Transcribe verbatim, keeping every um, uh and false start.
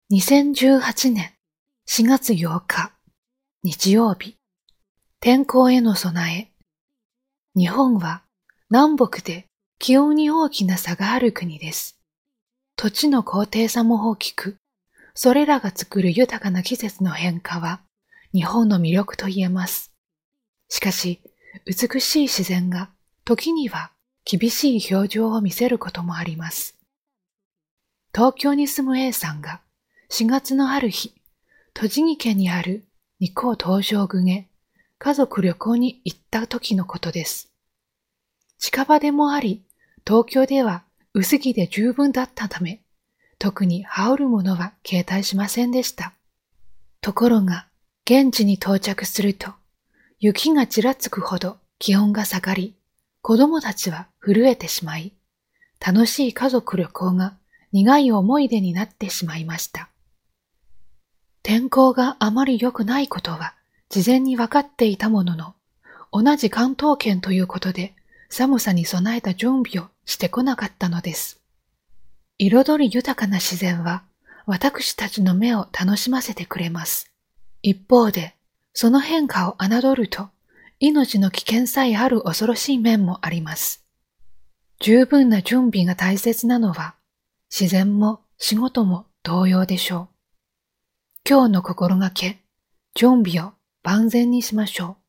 にせんじゅうはちねんしがつようか日曜日、天候への備え。日本は南北で気温に大きな差がある国です。土地の高低差も大きく、それらが作る豊かな季節の変化は日本の魅力と言えます。しかし、美しい自然が時には厳しい表情を見せることもあります。東京に住む A さんがしがつのある日、栃木県にある日光東照宮へ家族旅行に行った時のことです。近場でもあり、東京では薄着で十分だったため、特に羽織るものは携帯しませんでした。ところが、現地に到着すると、雪がちらつくほど気温が下がり、子供たちは震えてしまい、楽しい家族旅行が苦い思い出になってしまいました。天候があまり良くないことは事前に分かっていたものの、同じ関東圏ということで寒さに備えた準備をしてこなかったのです。彩り豊かな自然は私たちの目を楽しませてくれます。一方で、その変化を侮ると命の危険さえある恐ろしい面もあります。十分な準備が大切なのは自然も仕事も同様でしょう。今日の心がけ、準備を万全にしましょう。